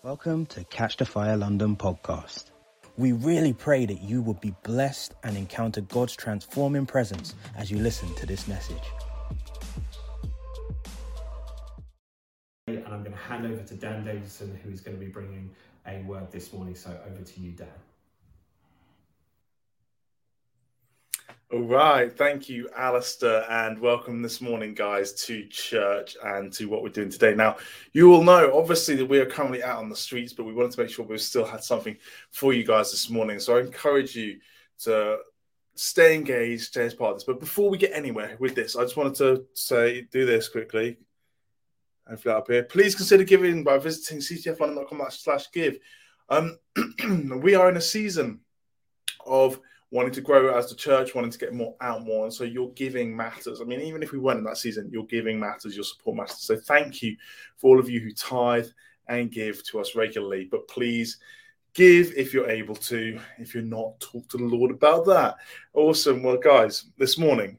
Welcome to Catch the Fire London podcast. We really pray that you will be blessed and encounter God's transforming presence as you listen to this message. And I'm going to hand over to Dan Davidson, who is going to be bringing a word this morning. So over to you, Dan. All right, thank you, Alistair, and welcome this morning, guys, to church and to what we're doing today. Now, you all know, obviously, that we are currently out on the streets, but we wanted to make sure we still had something for you guys this morning. So I encourage you to stay engaged, stay as part of this. But before we get anywhere with this, I just wanted to do this quickly. Hopefully up here. Please consider giving by visiting ctflondon.com/give. We are in a season of wanting to grow as the church, wanting to get more out more. And so your giving matters. I mean, even if we weren't in that season, your giving matters, your support matters. So thank you for all of you who tithe and give to us regularly. But please give if you're able to. If you're not, talk to the Lord about that. Awesome. Well, guys, this morning,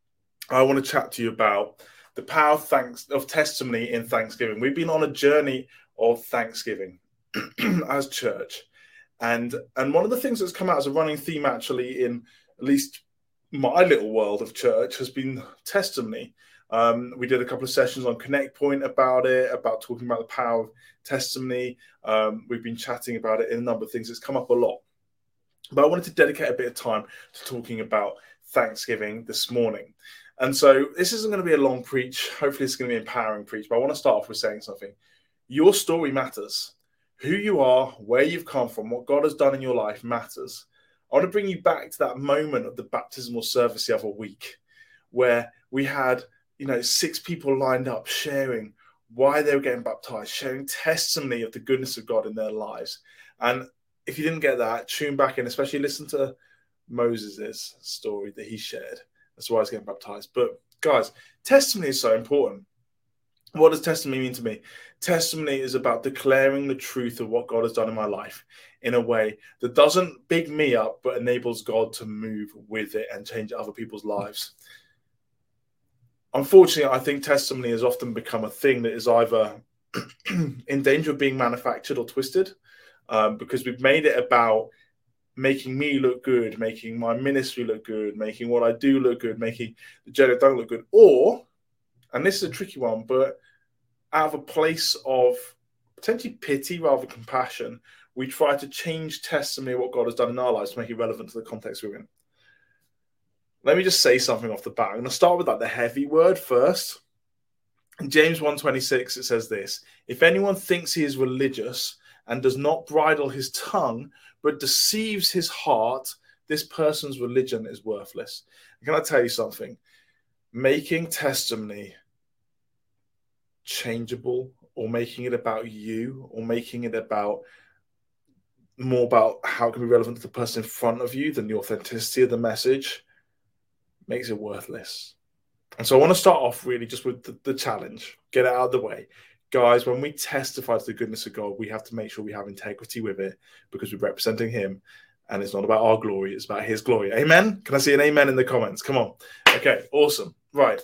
I want to chat to you about the power of testimony in Thanksgiving. We've been on a journey of Thanksgiving as church. And one of the things that's come out as a running theme, actually, in at least my little world of church, has been testimony. We did a couple of sessions on Connect Point about it, about talking about the power of testimony. We've been chatting about it in a number of things. It's come up a lot. But I wanted to dedicate a bit of time to talking about Thanksgiving this morning. And so this isn't going to be a long preach. Hopefully it's going to be an empowering preach. But I want to start off with saying something. Your story matters. Who you are, where you've come from, what God has done in your life matters. I want to bring you back to that moment of the baptismal service the other week where we had, 6 people lined up sharing why they were getting baptized, sharing testimony of the goodness of God in their lives. And if you didn't get that, tune back in, especially listen to Moses' story that he shared. That's why he's getting baptized. But guys, testimony is so important. What does testimony mean to me? Testimony is about declaring the truth of what God has done in my life in a way that doesn't big me up, but enables God to move with it and change other people's lives. Unfortunately, I think testimony has often become a thing that is either in danger of being manufactured or twisted, because we've made it about making me look good, making my ministry look good, making what I do look good, making the Jedi don't look good, or, and this is a tricky one, but out of a place of potentially pity rather than compassion, we try to change testimony of what God has done in our lives to make it relevant to the context we're in. Let me just say something off the bat. I'm going to start with the heavy word first. In James 1:26, it says this: if anyone thinks he is religious and does not bridle his tongue, but deceives his heart, this person's religion is worthless. Can I tell you something? Making testimony changeable, or making it about you, or making it about more about how it can be relevant to the person in front of you than the authenticity of the message, makes it worthless. And so I want to start off really just with the challenge, get it out of the way. Guys, when we testify to the goodness of God, we have to make sure we have integrity with it, because we're representing him, and it's not about our glory, it's about his glory. Amen? Can I see an amen in the comments? Come on. Okay, awesome. Right.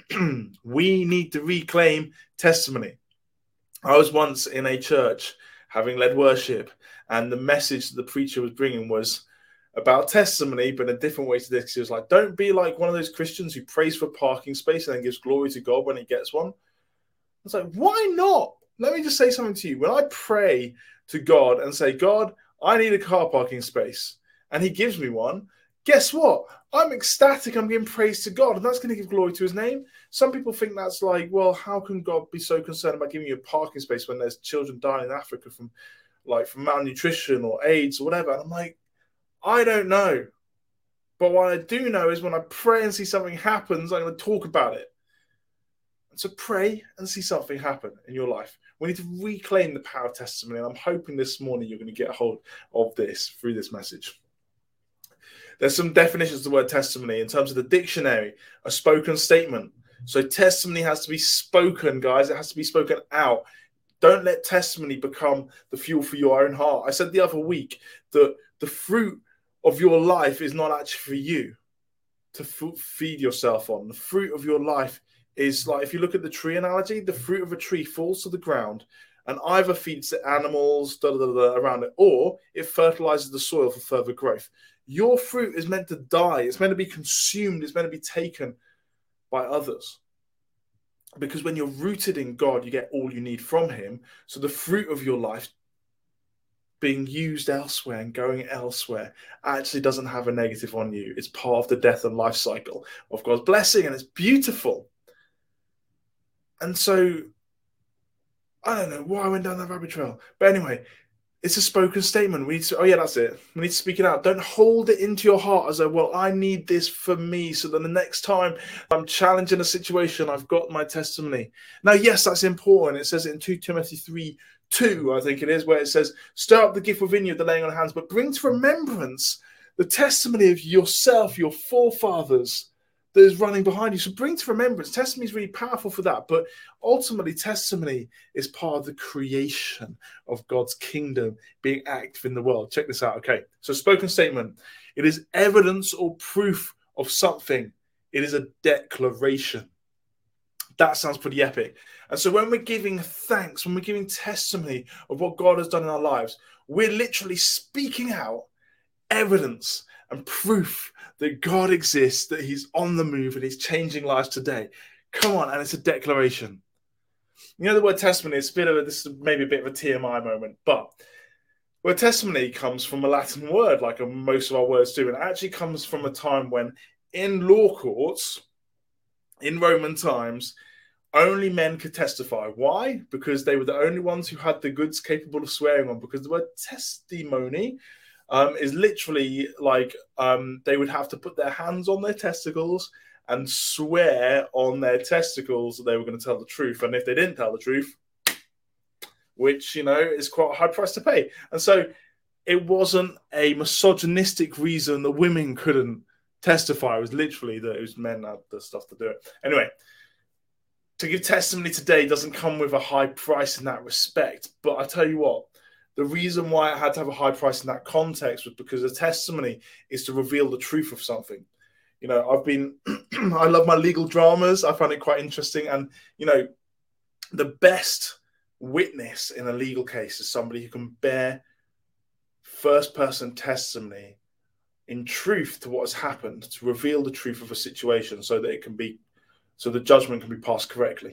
We need to reclaim testimony. I was once in a church having led worship, and the message that the preacher was bringing was about testimony, but in a different way to this. He was like, don't be like one of those Christians who prays for a parking space and then gives glory to God when he gets one. I was like, why not? Let me just say something to you. When I pray to God and say, God, I need a car parking space, and he gives me one, guess what? I'm ecstatic. I'm giving praise to God, and that's going to give glory to his name. Some people think that's like, well, how can God be so concerned about giving you a parking space when there's children dying in Africa from malnutrition or AIDS or whatever? And I'm like, I don't know. But what I do know is when I pray and see something happens, I'm going to talk about it. And so pray and see something happen in your life. We need to reclaim the power of testimony, and I'm hoping this morning you're going to get a hold of this through this message. There's some definitions of the word testimony in terms of the dictionary: a spoken statement. So testimony has to be spoken, guys. It has to be spoken out. Don't let testimony become the fuel for your own heart. I said the other week that the fruit of your life is not actually for you to feed yourself on. The fruit of your life is like, if you look at the tree analogy, the fruit of a tree falls to the ground and either feeds the animals around it, or it fertilizes the soil for further growth. Your fruit is meant to die. It's meant to be consumed. It's meant to be taken by others. Because when you're rooted in God, you get all you need from him. So the fruit of your life being used elsewhere and going elsewhere actually doesn't have a negative on you. It's part of the death and life cycle of God's blessing, and it's beautiful. And so, I don't know why I went down that rabbit trail. But anyway, it's a spoken statement. We need to, oh yeah, that's it. We need to speak it out. Don't hold it into your heart as though, well, I need this for me, so that the next time I'm challenging a situation, I've got my testimony. Now, yes, that's important. It says it in 2 Timothy 3:2, I think it is, where it says, stir up the gift within you, the laying on of hands, but bring to remembrance the testimony of yourself, your forefathers, that is running behind you. So bring to remembrance. Testimony is really powerful for that. But ultimately, testimony is part of the creation of God's kingdom being active in the world. Check this out. Okay. So spoken statement. It is evidence or proof of something. It is a declaration. That sounds pretty epic. And so when we're giving thanks, when we're giving testimony of what God has done in our lives, we're literally speaking out evidence and proof that God exists, that he's on the move and he's changing lives today. Come on, and it's a declaration. You know, the word testimony is this is maybe a bit of a TMI moment, but word testimony comes from a Latin word, like most of our words do, and it actually comes from a time when in law courts, in Roman times, only men could testify. Why? Because they were the only ones who had the goods capable of swearing on, because the word testimony is literally like they would have to put their hands on their testicles and swear on their testicles that they were going to tell the truth. And if they didn't tell the truth, which, you know, is quite a high price to pay. And so it wasn't a misogynistic reason that women couldn't testify. It was literally that it was men had the stuff to do it. Anyway, to give testimony today doesn't come with a high price in that respect. But I tell you what, the reason why I had to have a high price in that context was because a testimony is to reveal the truth of something. You know, I love my legal dramas. I find it quite interesting. And, you know, the best witness in a legal case is somebody who can bear first-person testimony in truth to what has happened, to reveal the truth of a situation so that the judgment can be passed correctly.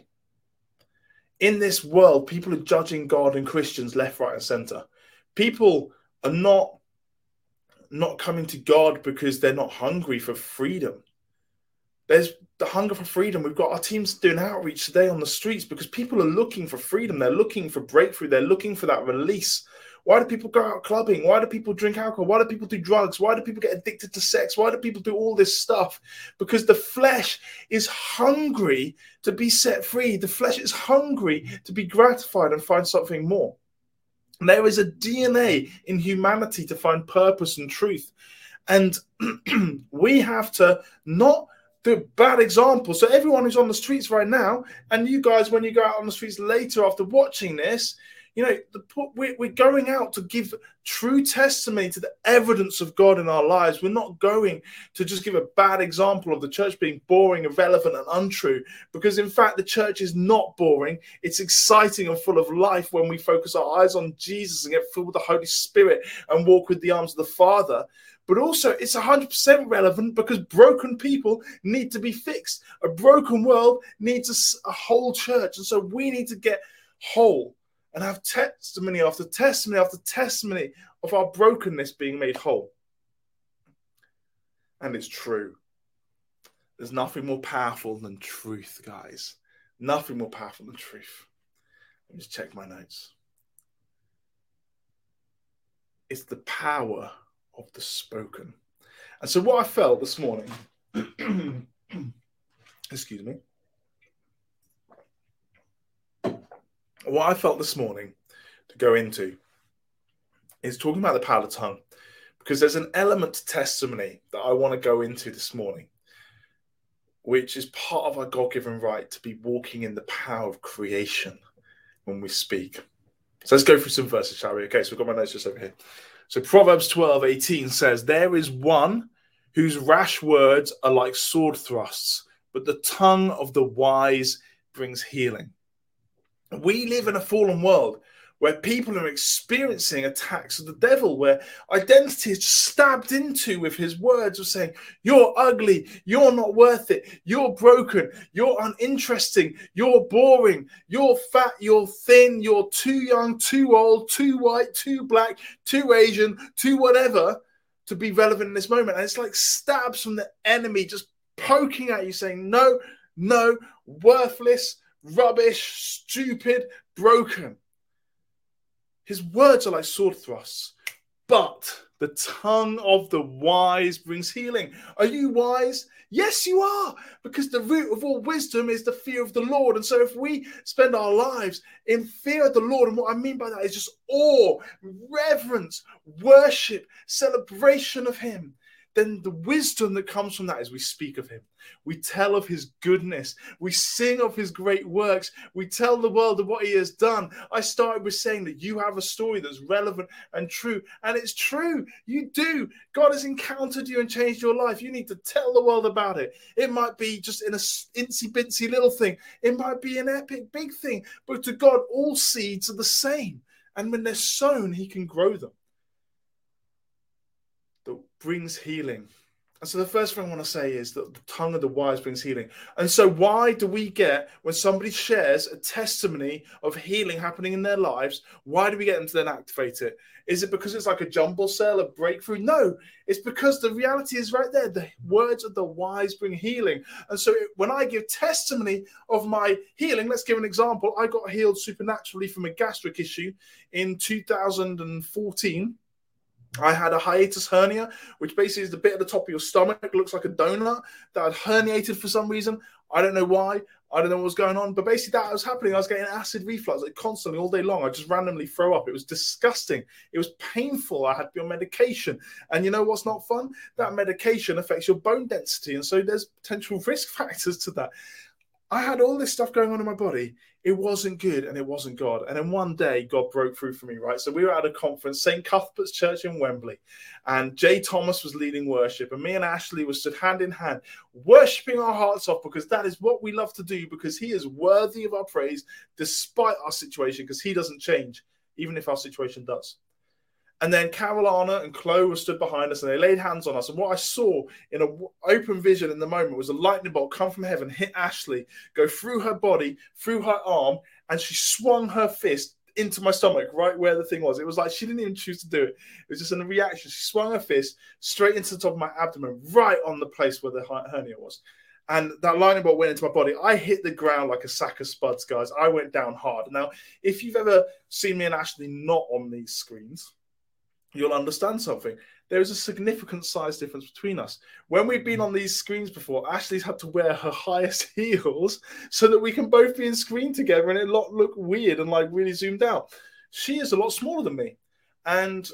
In this world, people are judging God and Christians left, right, and center. People are not coming to God because they're not hungry for freedom. There's the hunger for freedom. We've got our teams doing outreach today on the streets because people are looking for freedom. They're looking for breakthrough. They're looking for that release. Why do people go out clubbing? Why do people drink alcohol? Why do people do drugs? Why do people get addicted to sex? Why do people do all this stuff? Because the flesh is hungry to be set free. The flesh is hungry to be gratified and find something more. And there is a DNA in humanity to find purpose and truth. And we have to not do bad examples. So everyone who's on the streets right now, and you guys, when you go out on the streets later after watching this, you know, we're going out to give true testimony to the evidence of God in our lives. We're not going to just give a bad example of the church being boring, irrelevant, and untrue, because in fact, the church is not boring. It's exciting and full of life when we focus our eyes on Jesus and get filled with the Holy Spirit and walk with the arms of the Father. But also, it's 100% relevant because broken people need to be fixed. A broken world needs a whole church. And so we need to get whole and have testimony after testimony after testimony of our brokenness being made whole. And it's true. There's nothing more powerful than truth, guys. Nothing more powerful than truth. Let me just check my notes. It's the power of the spoken. And so what I felt this morning, excuse me, what I felt this morning to go into is talking about the power of the tongue, because there's an element to testimony that I want to go into this morning, which is part of our God-given right to be walking in the power of creation when we speak. So let's go through some verses, shall we? Okay, so we've got my notes just over here. So Proverbs 12:18 says, there is one whose rash words are like sword thrusts, but the tongue of the wise brings healing. We live in a fallen world where people are experiencing attacks of the devil, where identity is stabbed into with his words of saying, you're ugly, you're not worth it, you're broken, you're uninteresting, you're boring, you're fat, you're thin, you're too young, too old, too white, too black, too Asian, too whatever to be relevant in this moment. And it's like stabs from the enemy just poking at you saying, no, no, worthless, rubbish, stupid, broken. His words are like sword thrusts, but the tongue of the wise brings healing. Are you wise? Yes, you are, because the root of all wisdom is the fear of the Lord. And so if we spend our lives in fear of the Lord, and what I mean by that is just awe, reverence, worship, celebration of him, then the wisdom that comes from that is we speak of him. We tell of his goodness. We sing of his great works. We tell the world of what he has done. I started with saying that you have a story that's relevant and true. And it's true. You do. God has encountered you and changed your life. You need to tell the world about it. It might be just in a incy-bincy little thing. It might be an epic big thing. But to God, all seeds are the same. And when they're sown, he can grow them. That brings healing. And so the first thing I want to say is that the tongue of the wise brings healing. And so why do we get, when somebody shares a testimony of healing happening in their lives, why do we get them to then activate it? Is it because it's like a jumble sale, a breakthrough? No, it's because the reality is right there. The words of the wise bring healing. And so when I give testimony of my healing, let's give an example. I got healed supernaturally from a gastric issue in 2014. I had a hiatus hernia, which basically is the bit at the top of your stomach. It looks like a donut that had herniated for some reason. I don't know why. I don't know what was going on. But basically that was happening. I was getting acid reflux like constantly all day long. I just randomly throw up. It was disgusting. It was painful. I had to be on medication. And you know what's not fun? That medication affects your bone density. And so there's potential risk factors to that. I had all this stuff going on in my body. It wasn't good and it wasn't God. And then one day, God broke through for me, right? So we were at a conference, St. Cuthbert's Church in Wembley, and Jay Thomas was leading worship, and me and Ashley were stood hand in hand, worshiping our hearts off, because that is what we love to do, because he is worthy of our praise despite our situation, because he doesn't change, even if our situation does. And then Carolina and Chloe were stood behind us and they laid hands on us. And what I saw in an open vision in the moment was a lightning bolt come from heaven, hit Ashley, go through her body, through her arm, and she swung her fist into my stomach, right where the thing was. It was like she didn't even choose to do it. It was just in a reaction. She swung her fist straight into the top of my abdomen, right on the place where the hernia was. And that lightning bolt went into my body. I hit the ground like a sack of spuds, guys. I went down hard. Now, if you've ever seen me and Ashley not on these screens, you'll understand something. There is a significant size difference between us. When we've been on these screens before, Ashley's had to wear her highest heels so that we can both be in screen together and it look weird and like really zoomed out. She is a lot smaller than me. And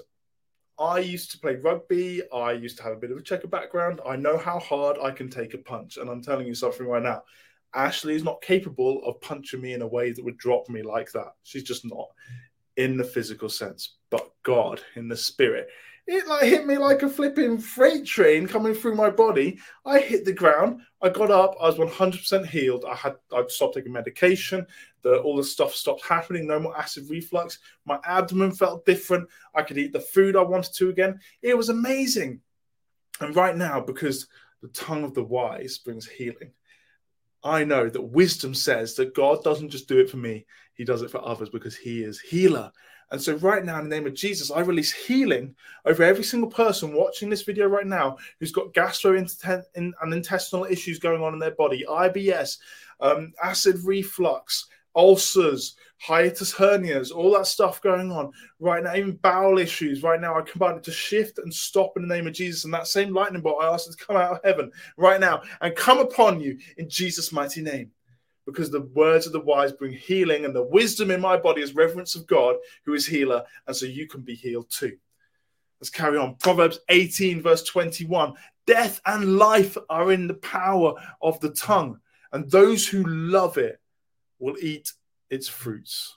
I used to play rugby. I used to have a bit of a checker background. I know how hard I can take a punch. And I'm telling you something right now. Ashley is not capable of punching me in a way that would drop me like that. She's just not. In the physical sense, but God in the spirit. It like hit me like a flipping freight train coming through my body. I hit the ground. I got up. I was 100% healed. I'd stopped taking medication. All the stuff stopped happening. No more acid reflux. My abdomen felt different. I could eat the food I wanted to again. It was amazing. And right now, because the tongue of the wise brings healing, I know that wisdom says that God doesn't just do it for me. He does it for others because he is healer. And so right now, in the name of Jesus, I release healing over every single person watching this video right now who's got gastrointestinal issues going on in their body, IBS, acid reflux, ulcers, hiatus hernias, all that stuff going on right now, even bowel issues right now. I command it to shift and stop in the name of Jesus. And that same lightning bolt, I ask it to come out of heaven right now and come upon you in Jesus' mighty name. Because the words of the wise bring healing, and the wisdom in my body is reverence of God, who is healer. And so you can be healed too. Let's carry on. Proverbs 18, verse 21. Death and life are in the power of the tongue, and those who love it will eat its fruits.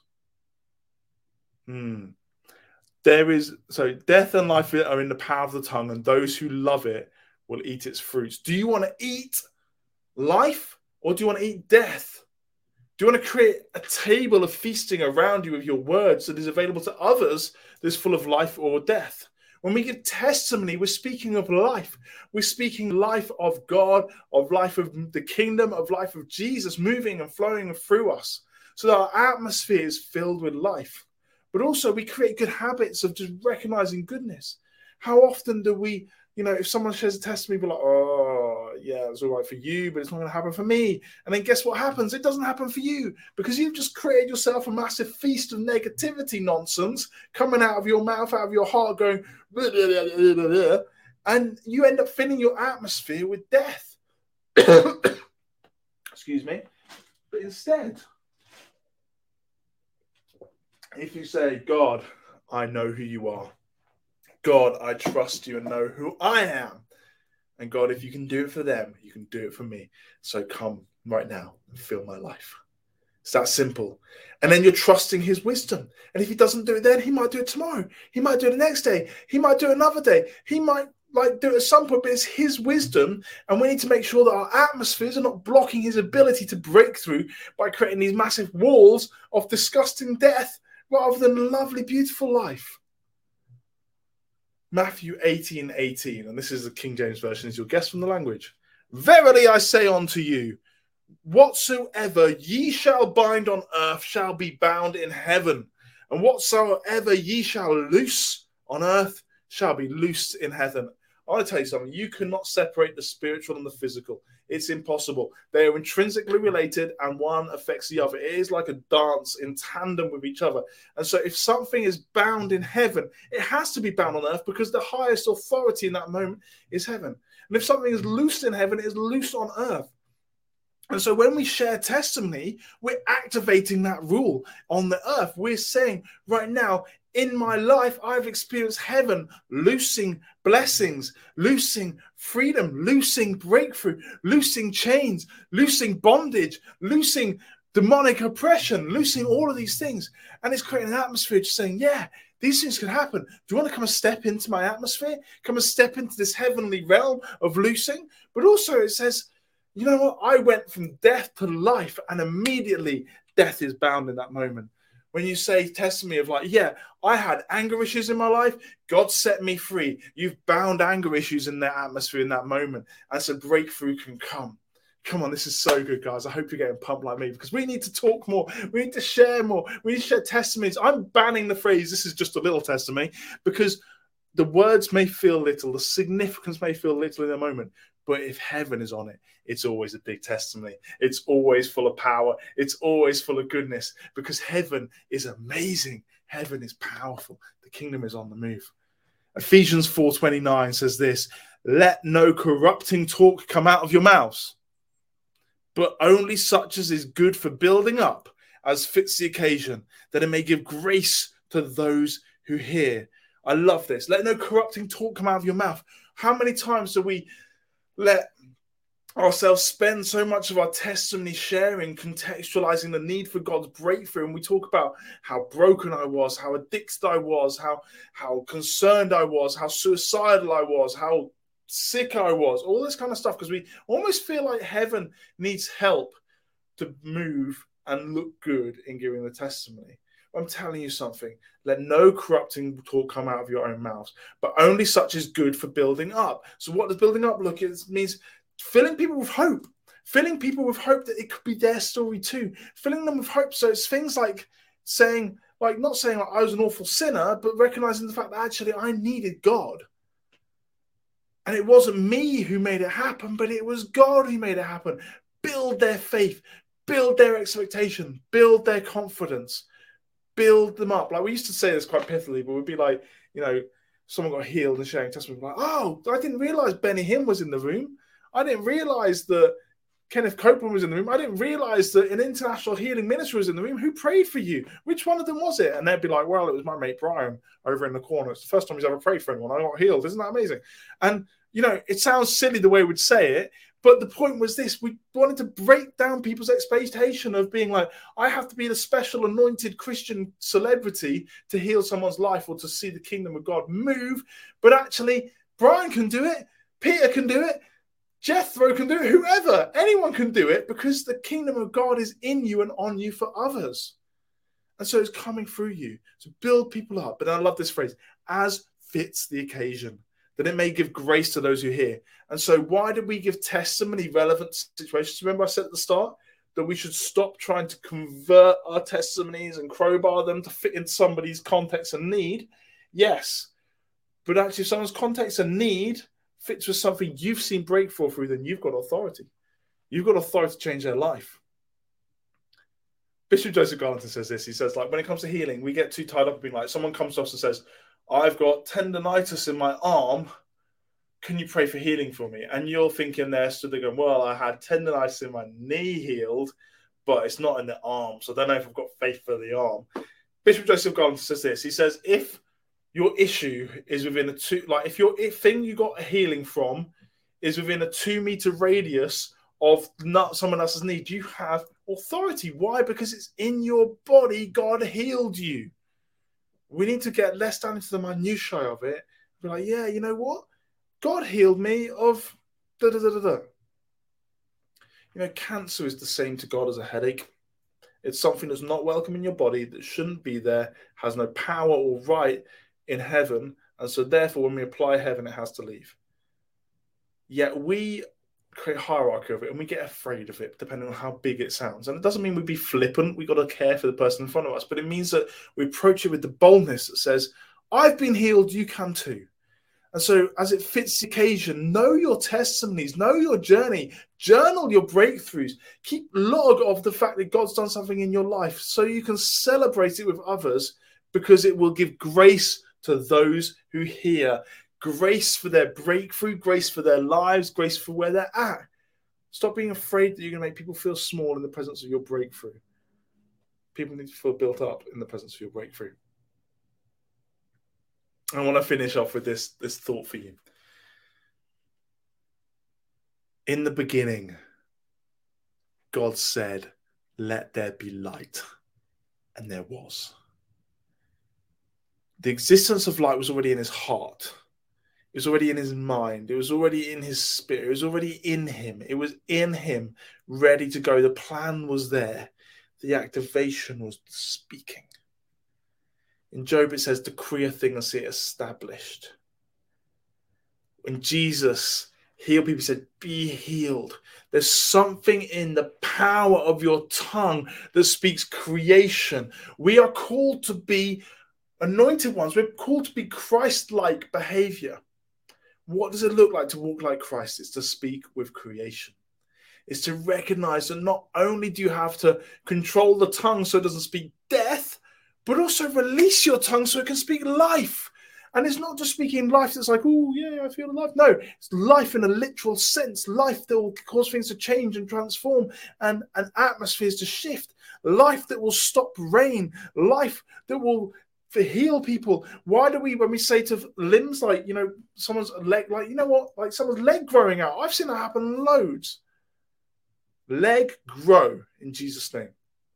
Death and life are in the power of the tongue, and those who love it will eat its fruits. Do you want to eat life, or do you want to eat death? Do you want to create a table of feasting around you with your words that is available to others that is full of life or death? When we give testimony, we're speaking of life. We're speaking life of God, of life of the kingdom, of life of Jesus moving and flowing through us. So that our atmosphere is filled with life. But also we create good habits of just recognizing goodness. How often do we, if someone shares a testimony, be like, oh, yeah, it's all right for you, but it's not going to happen for me. And then guess what happens? It doesn't happen for you because you've just created yourself a massive feast of negativity nonsense coming out of your mouth, out of your heart, going, blah, blah, blah, blah, blah, blah, and you end up filling your atmosphere with death. Excuse me. But instead, if you say, God, I know who you are. God, I trust you and know who I am. And God, if you can do it for them, you can do it for me. So come right now and fill my life. It's that simple. And then you're trusting his wisdom. And if he doesn't do it then, he might do it tomorrow. He might do it the next day. He might do it another day. He might do it at some point, but it's his wisdom. And we need to make sure that our atmospheres are not blocking his ability to break through by creating these massive walls of disgusting death rather than lovely, beautiful life. Matthew 18:18, and this is the King James Version, as you'll guess from the language. Verily I say unto you, whatsoever ye shall bind on earth shall be bound in heaven, and whatsoever ye shall loose on earth shall be loosed in heaven. I want to tell you something. You cannot separate the spiritual and the physical. It's impossible. They are intrinsically related and one affects the other. It is like a dance in tandem with each other. And so if something is bound in heaven, it has to be bound on earth because the highest authority in that moment is heaven. And if something is loosed in heaven, it is loosed on earth. And so when we share testimony, we're activating that rule on the earth. We're saying right now, in my life, I've experienced heaven loosing blessings, loosing freedom, loosing breakthrough, loosing chains, loosing bondage, loosing demonic oppression, loosing all of these things. And it's creating an atmosphere just saying, yeah, these things can happen. Do you want to come and step into my atmosphere? Come and step into this heavenly realm of loosing? But also it says, you know what? I went from death to life, and immediately death is bound in that moment. When you say testimony of like, yeah, I had anger issues in my life, God set me free. You've bound anger issues in that atmosphere in that moment. And so breakthrough can come. Come on, this is so good, guys. I hope you're getting pumped like me because we need to talk more. We need to share more. We need to share testimonies. I'm banning the phrase, this is just a little testimony, because the words may feel little, the significance may feel little in the moment. But if heaven is on it, it's always a big testimony. It's always full of power. It's always full of goodness because heaven is amazing. Heaven is powerful. The kingdom is on the move. Ephesians 4:29 says this, let no corrupting talk come out of your mouths, but only such as is good for building up as fits the occasion, that it may give grace to those who hear. I love this. Let no corrupting talk come out of your mouth. How many times do we let ourselves spend so much of our testimony sharing, contextualizing the need for God's breakthrough? And we talk about how broken I was, how addicted I was, how concerned I was, how suicidal I was, how sick I was, all this kind of stuff, because we almost feel like heaven needs help to move and look good in giving the testimony. I'm telling you something. Let no corrupting talk come out of your own mouths, but only such is good for building up. So what does building up look? It means filling people with hope. Filling people with hope that it could be their story too. Filling them with hope. So it's things like saying, like not saying like I was an awful sinner, but recognizing the fact that actually I needed God. And it wasn't me who made it happen, but it was God who made it happen. Build their faith, build their expectation, build their confidence. Build them up. Like we used to say this quite pithily, but we'd be like, someone got healed and sharing testimony. Like, oh, I didn't realize Benny Hinn was in the room. I didn't realize that Kenneth Copeland was in the room. I didn't realize that an international healing minister was in the room. Who prayed for you? Which one of them was it? And they'd be like, well, it was my mate Brian over in the corner. It's the first time he's ever prayed for anyone. I got healed. Isn't that amazing? And, it sounds silly the way we'd say it, but the point was this. We wanted to break down people's expectation of being like, I have to be the special anointed Christian celebrity to heal someone's life or to see the kingdom of God move. But actually, Brian can do it. Peter can do it. Jethro can do it. Whoever, anyone can do it, because the kingdom of God is in you and on you for others. And so it's coming through you to build people up. But I love this phrase, as fits the occasion, that it may give grace to those who hear. And so why did we give testimony relevant situations? Remember I said at the start that we should stop trying to convert our testimonies and crowbar them to fit in somebody's context and need. Yes, but actually if someone's context and need fits with something you've seen breakthrough through, then you've got authority. You've got authority to change their life. Bishop Joseph Garlington says this. He says, like, when it comes to healing, we get too tied up in being like, someone comes to us and says, I've got tendonitis in my arm. Can you pray for healing for me? And you're thinking there, stood there going, well, I had tendonitis in my knee healed, but it's not in the arm. So I don't know if I've got faith for the arm. Bishop Joseph Garlington says this. He says, if your issue is within if your thing you got a healing from is within a 2-meter radius of not someone else's need, you have authority. Why? Because it's in your body. God healed you. We need to get less down into the minutiae of it. Be like, yeah, you know what? God healed me of da-da-da-da-da. You know, cancer is the same to God as a headache. It's something that's not welcome in your body, that shouldn't be there, has no power or right in heaven. And so therefore, when we apply heaven, it has to leave. Yet we create a hierarchy of it and we get afraid of it depending on how big it sounds. And it doesn't mean we be flippant. We've got to care for the person in front of us, but it means that we approach it with the boldness that says, I've been healed, you can too. And so as it fits the occasion, know your testimonies, know your journey, journal your breakthroughs, keep log of the fact that God's done something in your life so you can celebrate it with others, because it will give grace to those who hear. Grace for their breakthrough, grace for their lives, grace for where they're at. Stop being afraid that you're going to make people feel small in the presence of your breakthrough. People need to feel built up in the presence of your breakthrough. I want to finish off with this thought for you. In the beginning, God said, let there be light. And there was. The existence of light was already in his heart. It was already in his mind. It was already in his spirit. It was already in him. It was in him, ready to go. The plan was there. The activation was speaking. In Job, it says, decree a thing and see it established. When Jesus healed people, he said, be healed. There's something in the power of your tongue that speaks creation. We are called to be anointed ones. We're called to be Christ-like behavior. What does it look like to walk like Christ? It's to speak with creation. It's to recognize that not only do you have to control the tongue so it doesn't speak death, but also release your tongue so it can speak life. And it's not just speaking life that's like, oh, yeah, I feel alive. No, it's life in a literal sense, life that will cause things to change and transform and atmospheres to shift, life that will stop rain, life that will heal people. Why do we, when we say to limbs, like, you know, someone's leg, like, you know what, like someone's leg growing out, I've seen that happen loads. Leg grow in Jesus' name.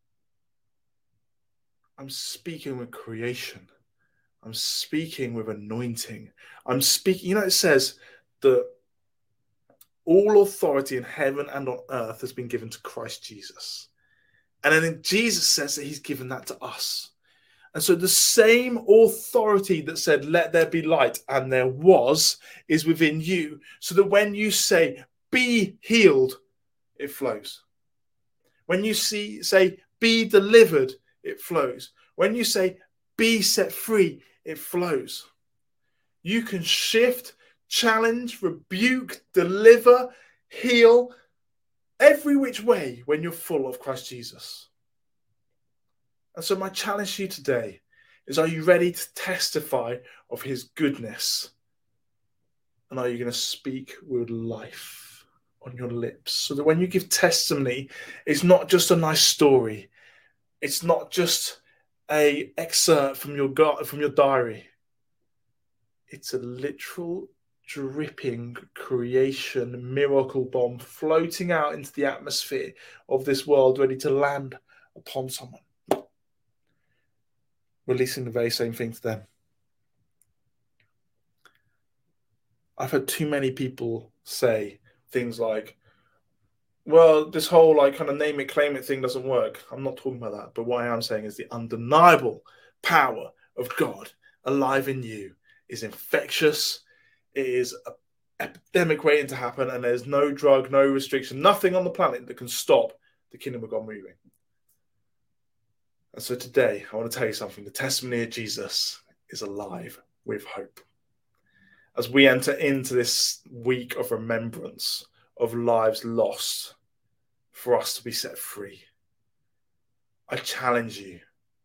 I'm speaking with creation. I'm speaking with anointing. I'm speaking, you know, it says that all authority in heaven and on earth has been given to Christ Jesus. And then Jesus says that he's given that to us. And so the same authority that said, let there be light, and there was, is within you. So that when you say, be healed, it flows. When you say, be delivered, it flows. When you say, be set free, it flows. You can shift, challenge, rebuke, deliver, heal, every which way when you're full of Christ Jesus. And so my challenge to you today is, are you ready to testify of his goodness? And are you going to speak with life on your lips? So that when you give testimony, it's not just a nice story. It's not just an excerpt from your diary. It's a literal dripping creation miracle bomb floating out into the atmosphere of this world, ready to land upon someone, releasing the very same thing to them. I've heard too many people say, things like, well, this whole like kind of name it, claim it thing doesn't work. I'm not talking about that. But what I am saying is the undeniable power of God alive in you is infectious. It is an epidemic waiting to happen, and there's no drug, no restriction, nothing on the planet that can stop the kingdom of God moving. And so today, I want to tell you something. The testimony of Jesus is alive with hope. As we enter into this week of remembrance of lives lost for us to be set free, I challenge you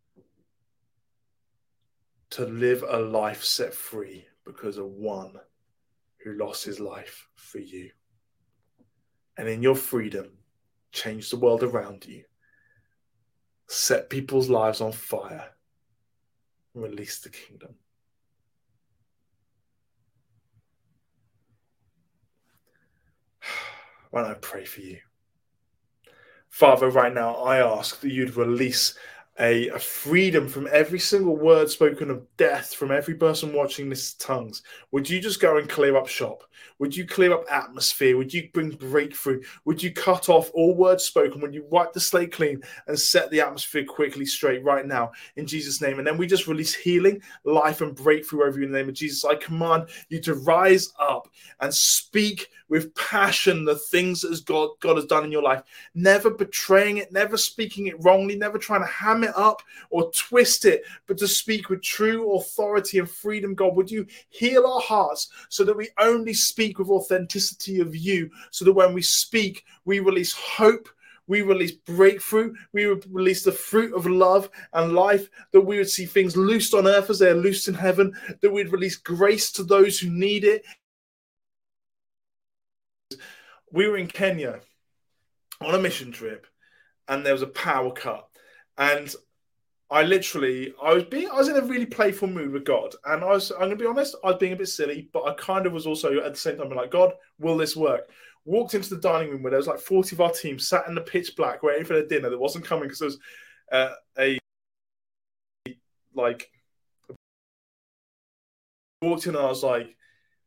to live a life set free because of one who lost his life for you. And in your freedom, change the world around you, set people's lives on fire, and release the kingdom. Why don't I pray for you? Father, right now, I ask that you'd release a freedom from every single word spoken of death from every person watching this tongues. Would you just go and clear up shop? Would you clear up atmosphere? Would you bring breakthrough? Would you cut off all words spoken? Would you wipe the slate clean and set the atmosphere quickly straight right now in Jesus' name? And then we just release healing, life, and breakthrough over you in the name of Jesus. I command you to rise up and speak with passion the things that God has done in your life, never betraying it, never speaking it wrongly, never trying to ham it up or twist it, but to speak with true authority and freedom. God, would you heal our hearts so that we only speak with authenticity of you, so that when we speak, we release hope, we release breakthrough, we would release the fruit of love and life, that we would see things loosed on earth as they are loosed in heaven, that we'd release grace to those who need it. We were in Kenya on a mission trip, and there was a power cut, and I was in a really playful mood with God, and I'm going to be honest, I was being a bit silly, but I kind of was also at the same time like, God, will this work? Walked into the dining room where there was like 40 of our team sat in the pitch black waiting for their dinner that wasn't coming because there was walked in and I was like,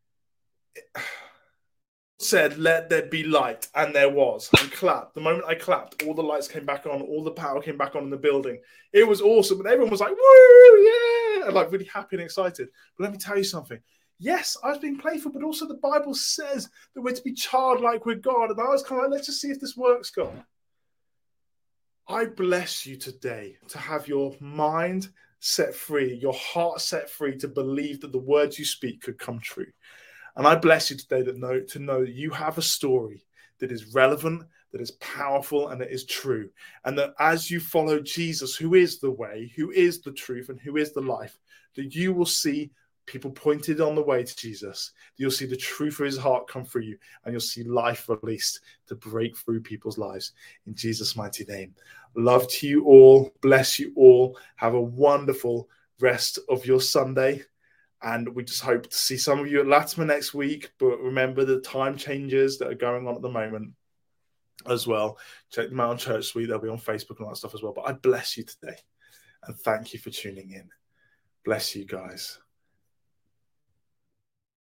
said, let there be light, and there was, and clapped. The moment I clapped, all the lights came back on, all the power came back on in the building. It was awesome, and everyone was like, woo, yeah, and like really happy and excited. But let me tell you something. Yes, I was being playful, but also the Bible says that we're to be childlike with God, and I was kind of like, let's just see if this works, God. I bless you today to have your mind set free, your heart set free to believe that the words you speak could come true. And I bless you today to know that you have a story that is relevant, that is powerful, and that is true. And that as you follow Jesus, who is the way, who is the truth, and who is the life, that you will see people pointed on the way to Jesus. You'll see the truth of his heart come through you, and you'll see life released to break through people's lives. In Jesus' mighty name. Love to you all. Bless you all. Have a wonderful rest of your Sunday. And we just hope to see some of you at Latimer next week. But remember the time changes that are going on at the moment as well. Check them out on Church Suite. They'll be on Facebook and all that stuff as well. But I bless you today. And thank you for tuning in. Bless you guys.